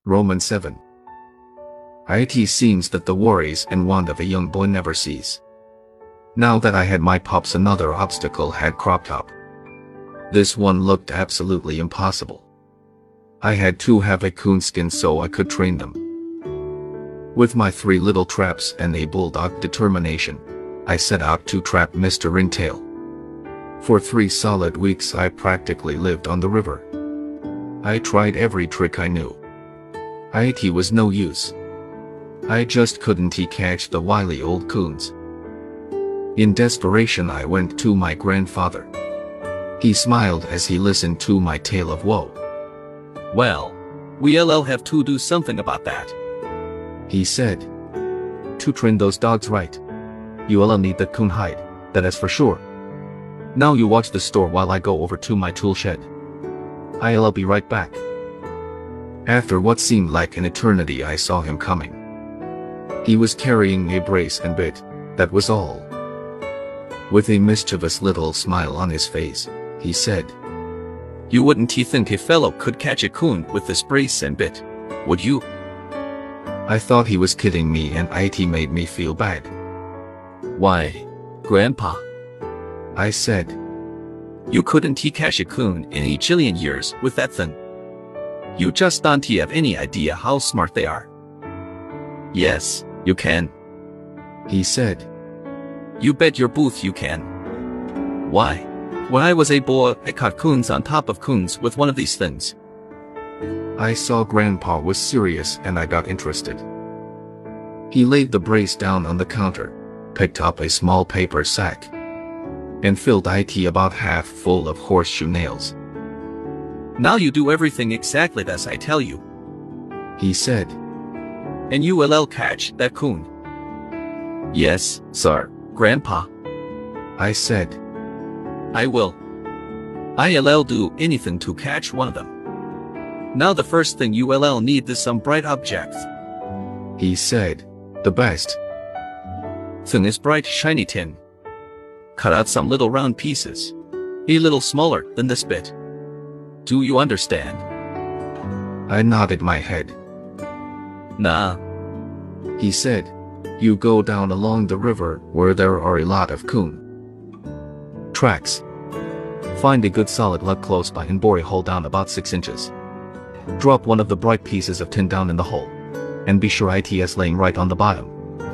Romans 7. It seems that the worries and want of a young boy never cease. Now that I had my pups, another obstacle had cropped up. This one looked absolutely impossible. I had to have a coonskin so I could train them. With my 3 little traps and a bulldog determination, I set out to trap Mr. Ringtail. For 3 solid weeks I practically lived on the river. I tried every trick I knew. It was no use. I just couldn't catch the wily old coons. In desperation I went to my grandfather. He smiled as he listened to my tale of woe. "Well, we'll have to do something about that," he said. "To train those dogs right, you'll need the coon hide, that is for sure. Now you watch the store while I go over to my tool shed. I'll be right back." After what seemed like an eternity I saw him coming. He was carrying a brace and bit, that was all. With a mischievous little smile on his face, he said, "You wouldn't think a fellow could catch a coon with this brace and bit, would you?" I thought he was kidding me, and it made me feel bad. "Why, Grandpa," I said, "you couldn't catch a coon in a jillion years with that thing. You just don't have any idea how smart they are." "Yes, you can," he said. "You bet your booth you can. Why, when I was a boy, I caught coons on top of coons with one of these things." I saw Grandpa was serious and I got interested. He laid the brace down on the counter, picked up a small paper sack, and filled it about half full of horseshoe nails. "Now you do everything exactly as I tell you," he said, "and you will catch that coon." "Yes, sir, Grandpa," I said. "I will. I'll do anything to catch one of them. Now the first thing you will need is some bright objects," he said. "The best thing is bright shiny tin. Cut out some little round pieces, a little smaller than this bit. Do you understand?" I nodded my head. "Nah," he said. "You go down along the river where there are a lot of coon tracks. Find a good solid log close by and bore a hole down about 6 inches. Drop one of the bright pieces of tin down in the hole, and be sure it's laying right on the bottom."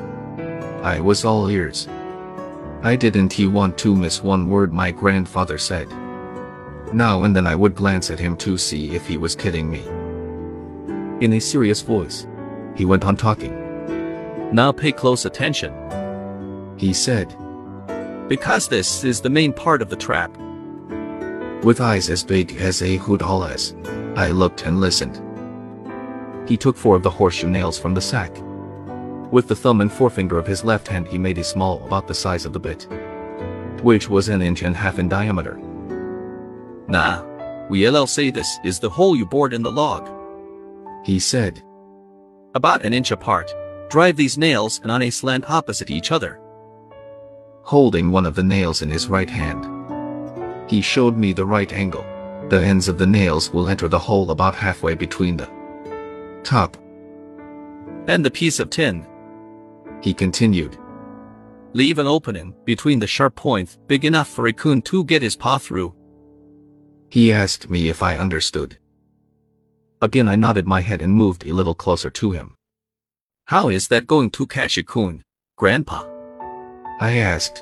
I was all ears. I didn't want to miss one word my grandfather said. Now and then I would glance at him to see if he was kidding me. In a serious voice, he went on talking. "Now pay close attention," he said, "because this is the main part of the trap." With eyes as big as a hoodah's, I looked and listened. He took 4 of the horseshoe nails from the sack. With the thumb and forefinger of his left hand he made a small about the size of the bit, which was 1.5 inches in diameter. "Nah, we'll say this is the hole you bored in the log," he said. "About 1 inch apart. Drive these nails on a slant opposite each other." Holding one of the nails in his right hand, he showed me the right angle. The ends of the nails will enter the hole about halfway between the top "And the piece of tin," he continued. "Leave an opening between the sharp points big enough for a coon to get his paw through." He asked me if I understood. Again I nodded my head and moved a little closer to him. "How is that going to catch a coon, Grandpa?" I asked.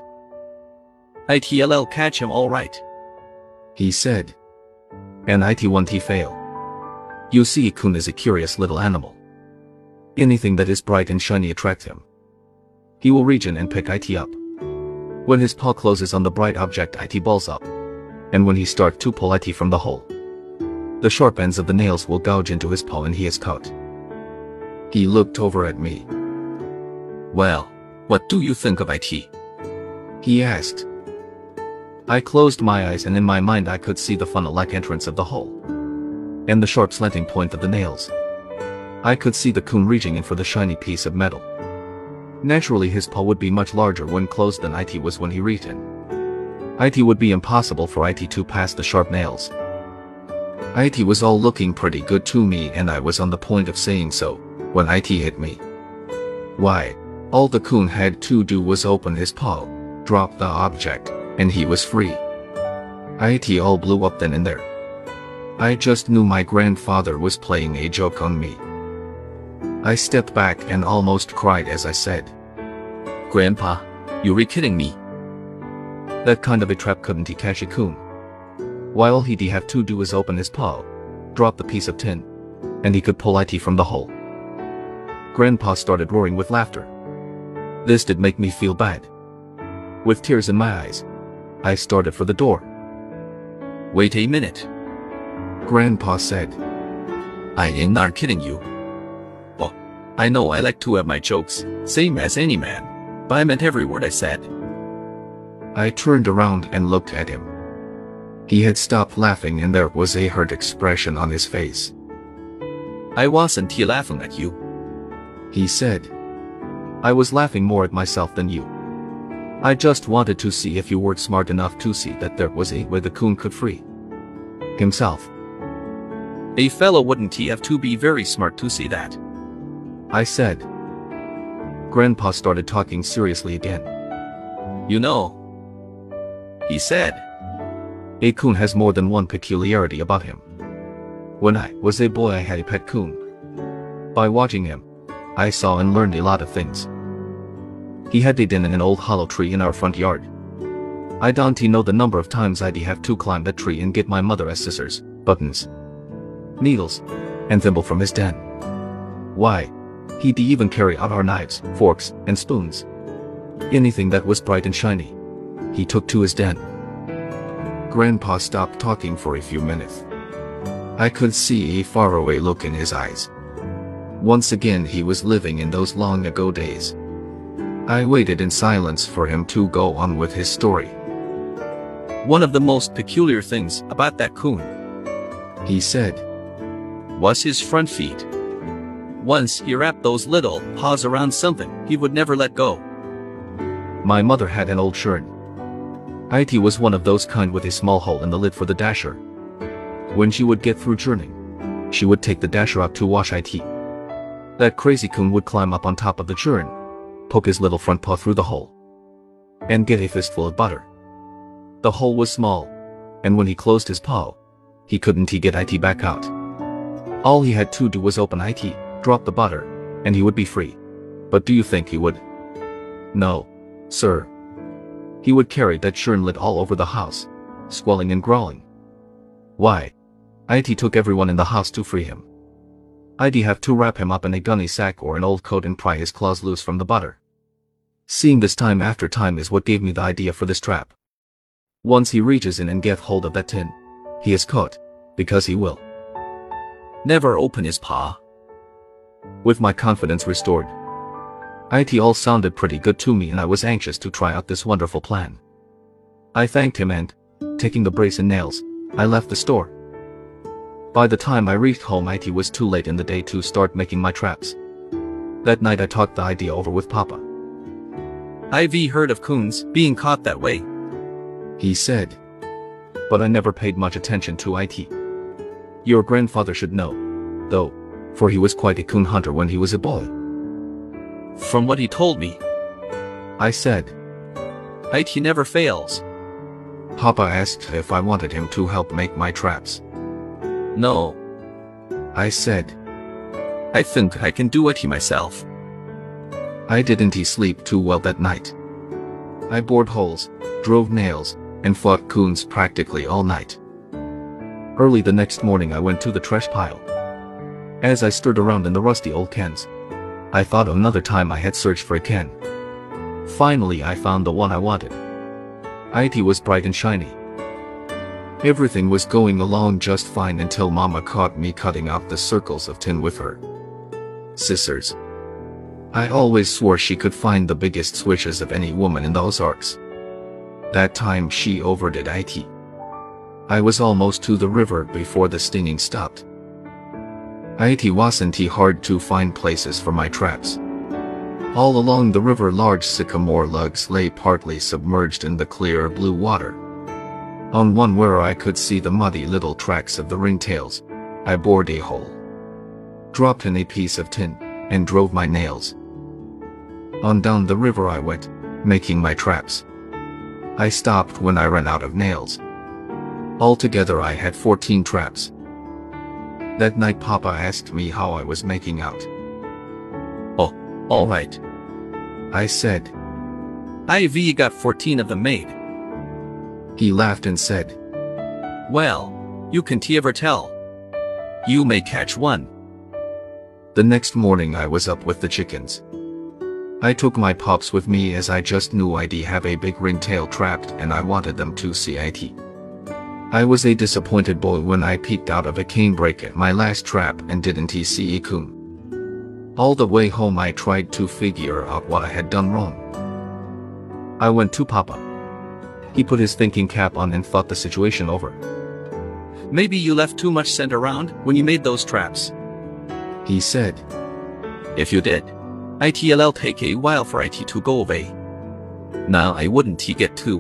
"I'll catch him all right," he said. "And it won't fail. You see, a coon is a curious little animal. Anything that is bright and shiny attracts him. He will reach in and pick it up. When his paw closes on the bright object, it balls up, and when he starts to pull it from the hole, the sharp ends of the nails will gouge into his paw and he is caught." He looked over at me. "Well, what do you think of it?" he asked. I closed my eyes and in my mind I could see the funnel-like entrance of the hole, and the sharp slanting point of the nails. I could see the coon reaching in for the shiny piece of metal. Naturally his paw would be much larger when closed than it was when he reached in. It would be impossible for it to pass the sharp nails. IT was all looking pretty good to me and I was on the point of saying so, when IT hit me. Why, all the coon had to do was open his paw, drop the object, and he was free. IT all blew up then and there. I just knew my grandfather was playing a joke on me. I stepped back and almost cried as I said, Grandpa, you're kidding me. that kind of a trap couldn't he catch a coon? Why all he'd have to do is open his paw, drop the piece of tin, and he could pull IT from the hole. Grandpa started roaring with laughter. This did make me feel bad. With tears in my eyes, I started for the door. Wait a minute. Grandpa said, I am not kidding you. Oh, I know I like to have my jokes, same as any man, but I meant every word I said. I turned around and looked at him. He had stopped laughing and there was a hurt expression on his face. I wasn't laughing at you, he said. I was laughing more at myself than you. I just wanted to see if you were smart enough to see that there was a way the coon could free himself. A fellow wouldn't have to be very smart to see that, I said. Grandpa started talking seriously again. You know, he said, a coon has more than one peculiarity about him. When I was a boy I had a pet coon. By watching him, I saw and learned a lot of things. He had a den in an old hollow tree in our front yard. I don't know the number of times I'd have to climb that tree and get my mother as scissors, buttons, needles, and thimble from his den. Why, he'd even carry out our knives, forks, and spoons. Anything that was bright and shiny, he took to his den. Grandpa stopped talking for a few minutes. I could see a faraway look in his eyes. Once again he was living in those long ago days. I waited in silence for him to go on with his story. One of the most peculiar things about that coon, he said, was his front feet. Once he wrapped those little paws around something, he would never let go. My mother had an old churn. IT was one of those kind with a small hole in the lid for the dasher. When she would get through churning, she would take the dasher out to wash IT. That crazy coon would climb up on top of the churn, poke his little front paw through the hole, and get a fistful of butter. The hole was small, and when he closed his paw, he couldn't get IT back out. All he had to do was open IT, drop the butter, and he would be free. But do you think he would? No, sir. He would carry that churn lid all over the house, squalling and growling. Why? IT took everyone in the house to free him. I'd have to wrap him up in a gunny sack or an old coat and pry his claws loose from the butter. Seeing this time after time is what gave me the idea for this trap. Once he reaches in and gets hold of that tin, he is caught, because he will never open his paw. With my confidence restored, IT all sounded pretty good to me and I was anxious to try out this wonderful plan. I thanked him and, taking the brace and nails, I left the store. By the time I reached home IT was too late in the day to start making my traps. That night I talked the idea over with Papa. I've heard of coons being caught that way, he said. But I never paid much attention to IT. Your grandfather should know, though, for he was quite a coon hunter when he was a boy. From what he told me, I said. IT never fails. Papa asked if I wanted him to help make my traps. No, I said. I think I can do it myself. I didn't sleep too well that night. I bored holes, drove nails, and fought coons practically all night. Early the next morning I went to the trash pile. As I stirred around in the rusty old cans, I thought of another time I had searched for a can. Finally I found the one I wanted. IT was bright and shiny. Everything was going along just fine until Mama caught me cutting out the circles of tin with her scissors. I always swore she could find the biggest switches of any woman in those arcs. That time she overdid IT. I was almost to the river before the stinging stopped. It wasn't hard to find places for my traps. All along the river large sycamore logs lay partly submerged in the clear blue water. On one where I could see the muddy little tracks of the ringtails, I bored a hole, dropped in a piece of tin, and drove my nails. On down the river I went, making my traps. I stopped when I ran out of nails. Altogether I had 14 traps. That night Papa asked me how I was making out. Oh, all right. I said. I've got 14 of them made. He laughed and said, Well, you can't ever tell. You may catch one. The next morning I was up with the chickens. I took my pups with me as I just knew I'd have a big ringtail trapped and I wanted them to see it. I was a disappointed boy when I peeked out of a canebrake at my last trap and didn't see a coon. All the way home I tried to figure out what I had done wrong. I went to Papa. He put his thinking cap on and thought the situation over. Maybe you left too much scent around when you made those traps, he said. If you did, it'll take a while for it to go away. Now I wouldn't get too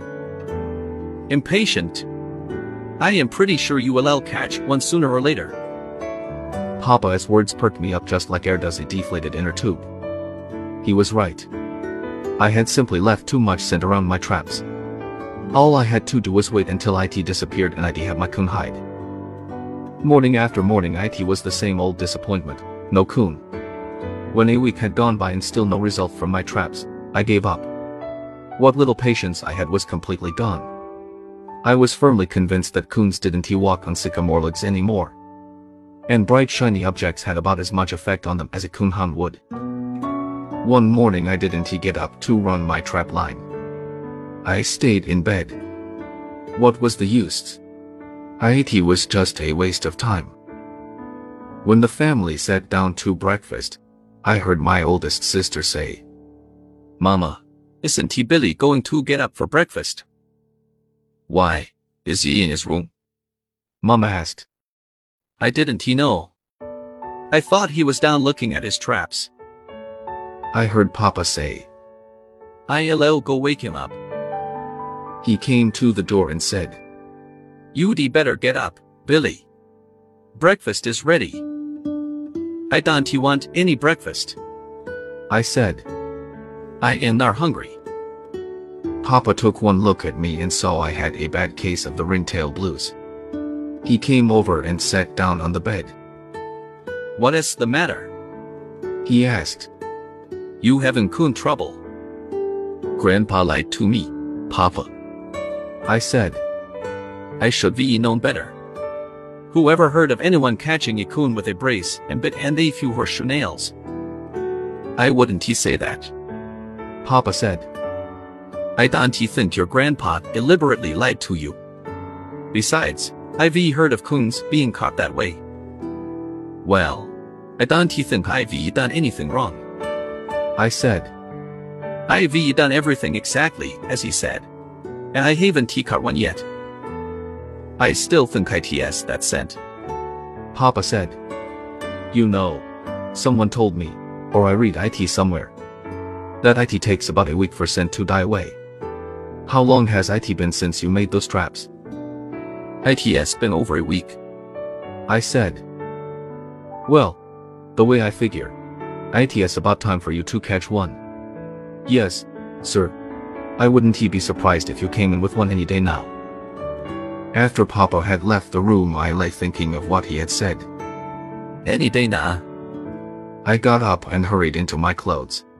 impatient. I am pretty sure you will catch one sooner or later. Papa's words perked me up just like air does a deflated inner tube. He was right. I had simply left too much scent around my traps. All I had to do was wait until it disappeared and I'd have my coon hide. Morning after morning it was the same old disappointment, no coon. When a week had gone by and still no result from my traps, I gave up. What little patience I had was completely gone. I was firmly convinced that coons didn't walk on sycamore logs anymore. And bright shiny objects had about as much effect on them as a coon hound would. One morning I didn't get up to run my trap line. I stayed in bed. What was the use? It was just a waste of time. When the family sat down to breakfast, I heard my oldest sister say, Mama, isn't Billy going to get up for breakfast? Why, is he in his room? Mama asked. I didn't know. I thought he was down looking at his traps. I heard Papa say, I'll go wake him up. He came to the door and said, You'd better get up, Billy. Breakfast is ready. I don't want any breakfast. I said, I am not hungry. Papa took one look at me and saw I had a bad case of the ringtail blues. He came over and sat down on the bed. What is the matter? He asked. You having coon trouble? Grandpa lied to me, Papa. I said. I should be known better. Who ever heard of anyone catching a coon with a brace and bit and a few horseshoe nails? I wouldn't say that. Papa said. I don't think your grandpa deliberately lied to you. Besides, I've heard of coons being caught that way. Well, I don't think I've done anything wrong. I said. I've done everything exactly as he said. And I haven't caught one yet. I still think it's that scent. Papa said. You know, someone told me, or I read it somewhere, that it takes about a week for scent to die away. How long has it been since you made those traps? It's been over a week. I said. Well, the way I figure, it's about time for you to catch one. Yes, sir. I wouldn't be surprised if you came in with one any day now. After Papa had left the room I lay thinking of what he had said. Any day now. I got up and hurried into my clothes.